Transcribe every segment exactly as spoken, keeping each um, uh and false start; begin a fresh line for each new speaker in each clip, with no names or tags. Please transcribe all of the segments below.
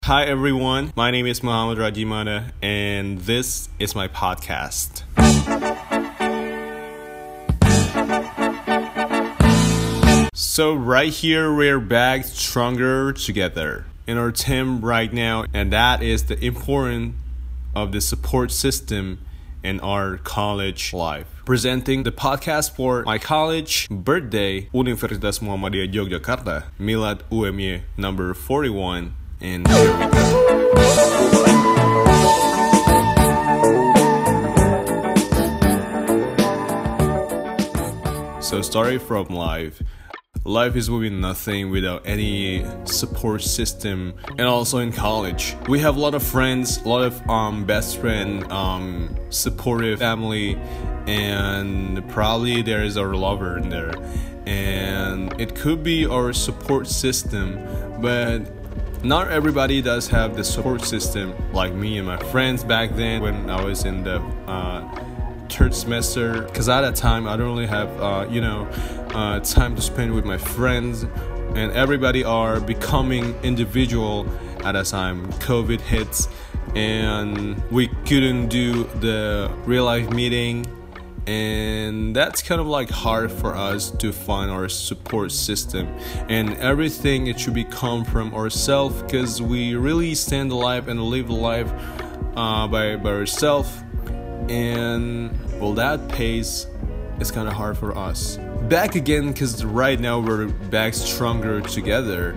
Hi everyone, my name is Muhammad Rajimana and this is my podcast. So right here we're back stronger together in our team right now, and that is the importance of the support system in our college life. Presenting the podcast for my college birthday, Universitas Muhammadiyah Yogyakarta, Milad U M Y number forty-one. And here we go. So starting from life. Life is really nothing without any support system. And also in college, we have a lot of friends, a lot of um, best friend, um, supportive family, and probably there is our lover in there. And it could be our support system, but not everybody does have the support system like me and my friends back then when I was in the uh, third semester. Because at that time, I don't really have, uh, you know, uh, time to spend with my friends. And everybody are becoming individual at that time. COVID hits and we couldn't do the real life meeting. And that's kind of like hard for us to find our support system, and everything it should be come from ourselves, because we really stand alive and live life uh, by by ourselves. And well, that pace is kind of hard for us. Back again, because right now we're back stronger together,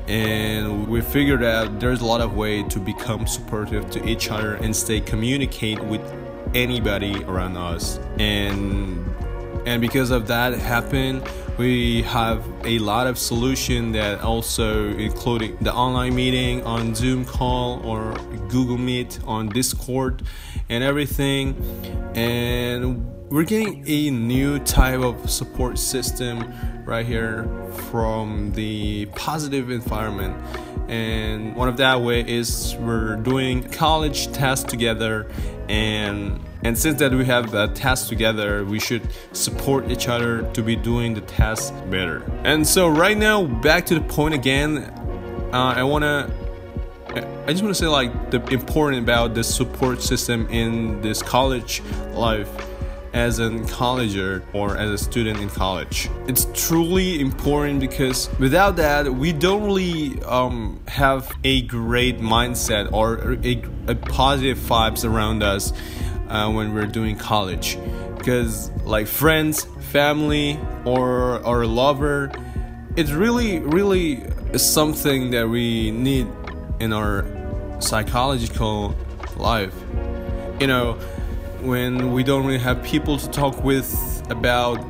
and we figured out there's a lot of way to become supportive to each other and stay communicate with anybody around us. And and because of that happen, we have a lot of solution that also including the online meeting on Zoom call or Google Meet on Discord and everything. And we're getting a new type of support system right here from the positive environment. And one of that way is we're doing college tasks together, and and since that we have that task together, we should support each other to be doing the task better. And so right now, back to the point again, uh, I wanna I just want to say like the important about the support system in this college life as a colleger or as a student in college. It's truly important because without that, we don't really um, have a great mindset or a, a positive vibes around us uh, when we're doing college. Because like friends, family, or our lover, it's really, really something that we need in our psychological life. You know, when we don't really have people to talk with about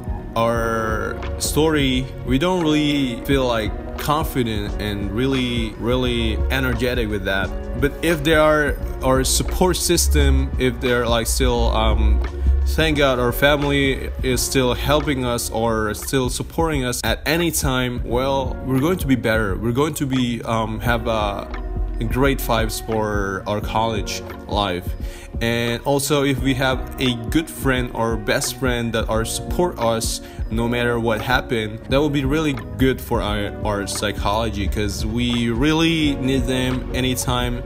our story, we don't really feel like confident and really, really energetic with that. But if there are our support system, if they're like still, um, thank God our family is still helping us or still supporting us at any time, well, we're going to be better. We're going to be um, have a great vibes for our college life. And also if we have a good friend or best friend that are support us no matter what happened, that will be really good for our, our psychology, because we really need them anytime.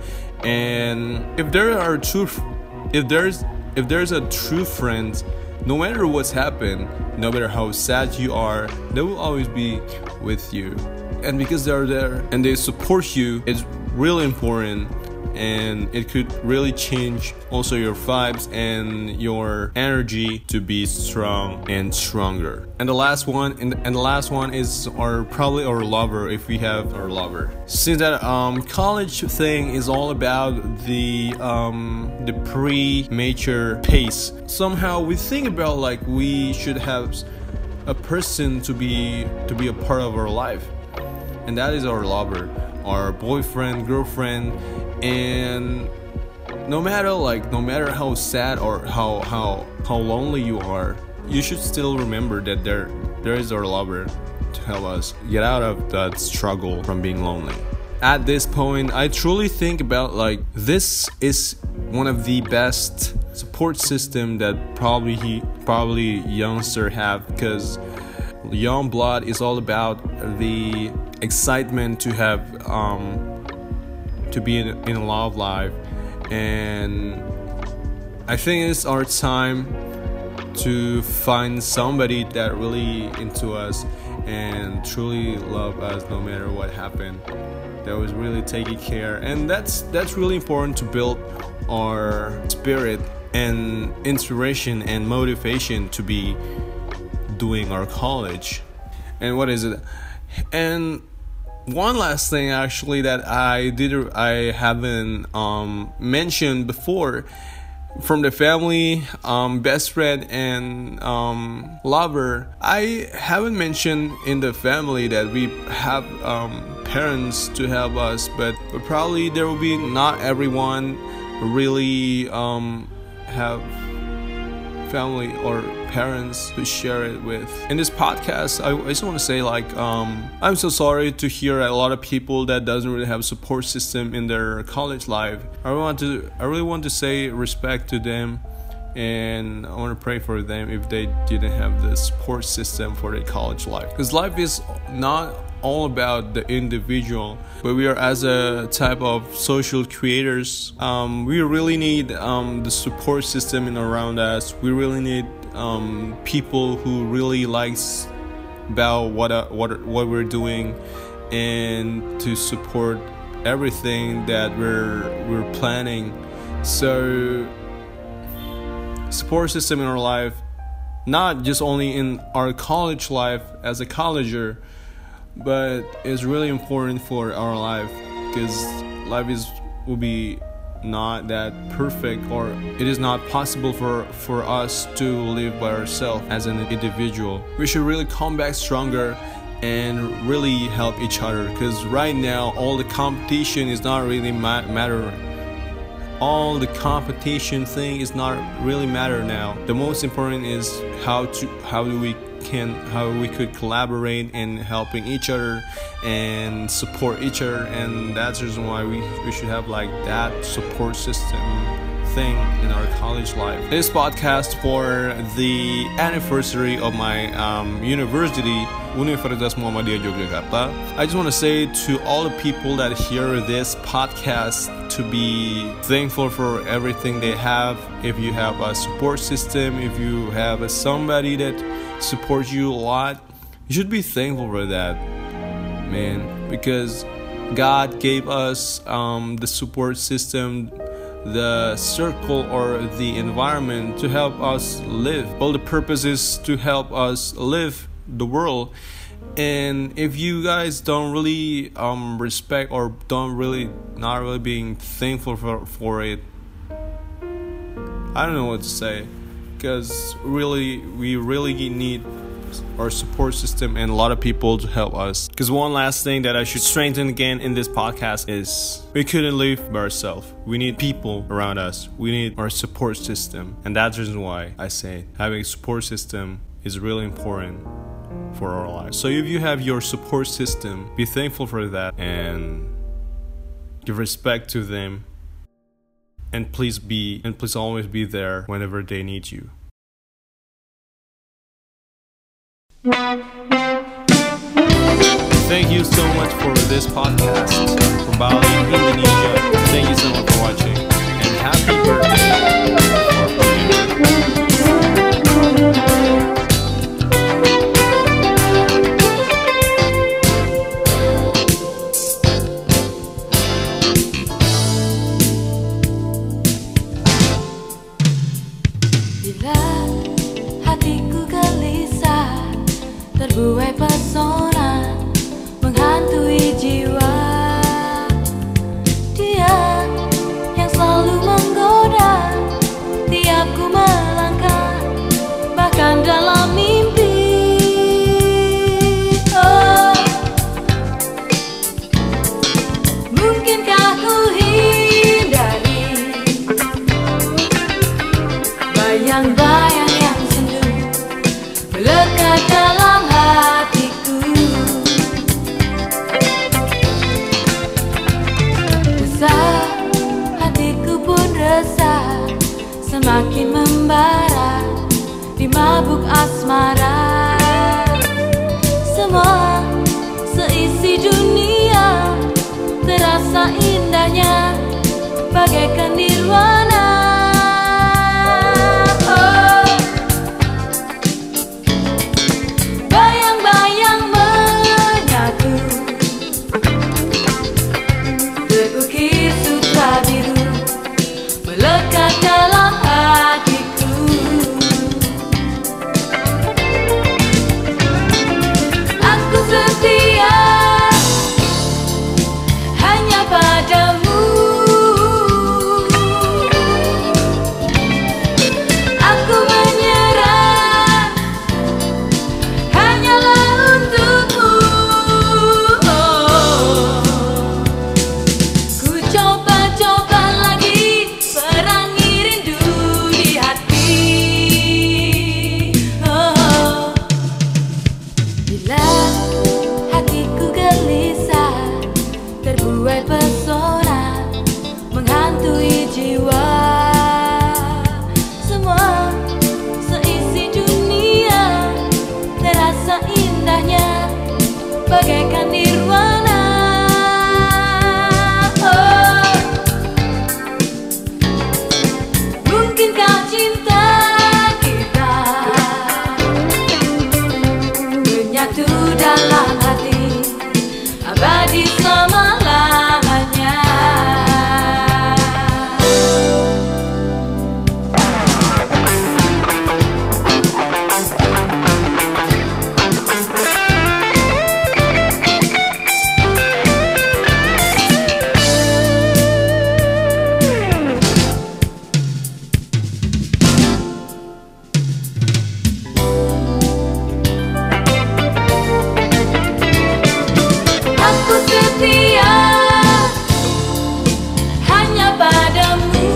And if there are true if there's if there's a true friend, no matter what's happened, no matter how sad you are, they will always be with you. And because they're there and they support you, it's really important, and it could really change also your vibes and your energy to be strong and stronger. And the last one and, and the last one is our probably our lover, if we have our lover. Since that um college thing is all about the um the pre-mature pace, somehow we think about like we should have a person to be to be a part of our life, and that is our lover, our boyfriend, girlfriend. And no matter like no matter how sad or how how how lonely you are, you should still remember that there there is our lover to help us get out of that struggle from being lonely. At this point, I truly think about like this is one of the best support system that probably he probably youngster have, because young blood is all about the excitement to have um to be in, in a love life, and I think it's our time to find somebody that really into us and truly love us no matter what happened, that was really taking care. And that's that's really important to build our spirit and inspiration and motivation to be doing our college. And what is it? And one last thing actually that I did I haven't um, mentioned before, from the family, um, best friend and um, lover, I haven't mentioned in the family that we have um, parents to help us, but, but probably there will be not everyone really um, have family or parents to share it with. In this podcast, I, I just want to say, like, um, I'm so sorry to hear a lot of people that doesn't really have a support system in their college life. I want to, I really want to say respect to them, and I want to pray for them if they didn't have the support system for their college life. Because life is not all about the individual, but we are, as a type of social creators, um, we really need um, the support system in around us. We really need um, people who really likes about what uh, what what we're doing, and to support everything that we're we're planning. So support system in our life, not just only in our college life as a colleger, but it's really important for our life, because life is will be not that perfect, or it is not possible for for us to live by ourselves as an individual. We should really come back stronger and really help each other, because right now all the competition is not really ma- matter all the competition thing is not really matter now. The most important is how to how do we can how we could collaborate in helping each other and support each other. And that's the reason why we, we should have like that support system thing in our college life. This podcast for the anniversary of my um, university, Universitas Muhammadiyah Yogyakarta. I just want to say to all the people that hear this podcast to be thankful for everything they have. If you have a support system, if you have a somebody that supports you a lot, you should be thankful for that, man, because God gave us um, the support system, the circle or the environment to help us live. All the purpose is to help us live the world. And if you guys don't really um, respect or don't really not really being thankful for, for it, I don't know what to say, because really we really need our support system and a lot of people to help us. Because one last thing that I should strengthen again in this podcast is we couldn't live by ourselves. We need people around us. We need our support system. And that's the reason why I say having a support system is really important for our lives. So if you have your support system, be thankful for that and give respect to them. And please be and please always be there whenever they need you. Thank you so much for this podcast from Bali, Indonesia. Thank you so much for watching, and happy birthday.
Bila hatiku gelisah, terbuai pesona menghantui jiwa. Dia yang selalu menggoda tiap ku melangkah, bahkan dalam mimpi. Oh, mungkinkah ku hindari bayang-bayang yang sendu melekat dalam hatiku. Resah, hatiku pun resah, semakin membara di mabuk asmara. Semua seisi dunia terasa indah indahnya bagaikan nirwana. Oh, bayang-bayang menyatu, terukir sutra biru melekat dalam hatiku. Aku setia hanya padamu. Aku menyerah hanyalah untukmu. Oh, ku coba-coba lagi perangi rindu di hati. Oh, bila hatiku gelisah, terbuai pesona menghantui jiwa. Semua seisi dunia terasa indahnya bagaikan nirwana. Oh, mungkinkah cinta kita menyatu dalam hati abadi selama-lamanya. Aku setia hanya padamu.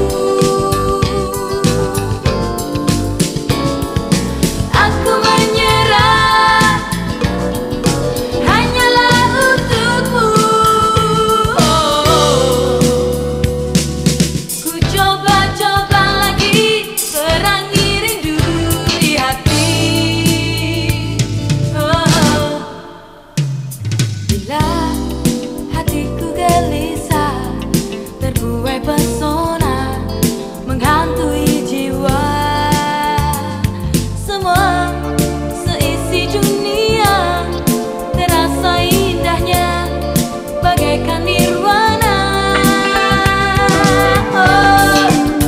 Aku menyerah hanyalah untukmu. Oh, ku coba-coba lagi perangi rindu di hati. Oh, bila hatiku gelisah, terbuai pesona menghantui jiwa. Semua seisi dunia terasa indahnya bagaikan nirwana. Oh,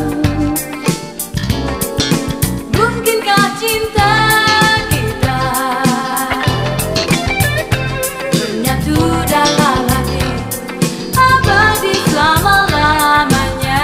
mungkinkah cinta kita menyatu dalam hati abadi selama-lamanya.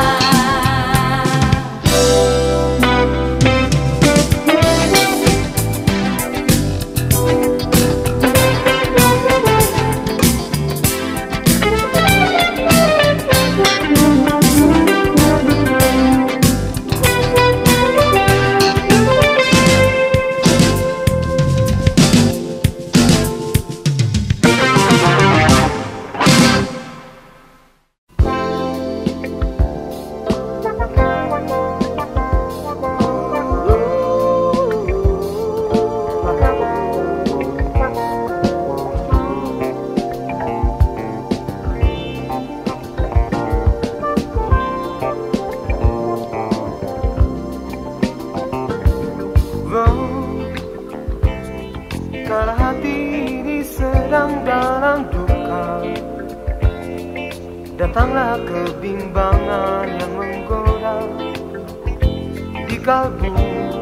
Kalau hati ini sedang dalam duka, datanglah kebimbangan yang menggoda di kalbu.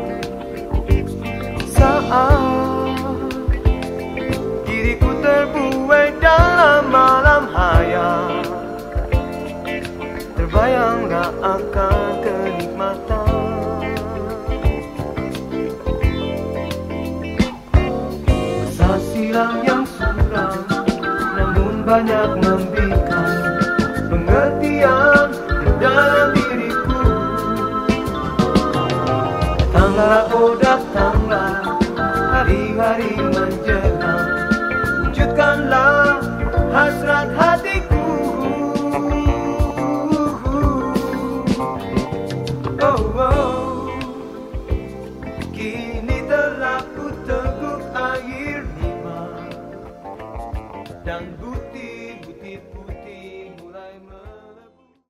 Saat diriku terbuai dalam malam hayal, terbayanglah akan kenikmatan. Silam yang suram, namun banyak memberikan pengertian dalam diriku. Datanglah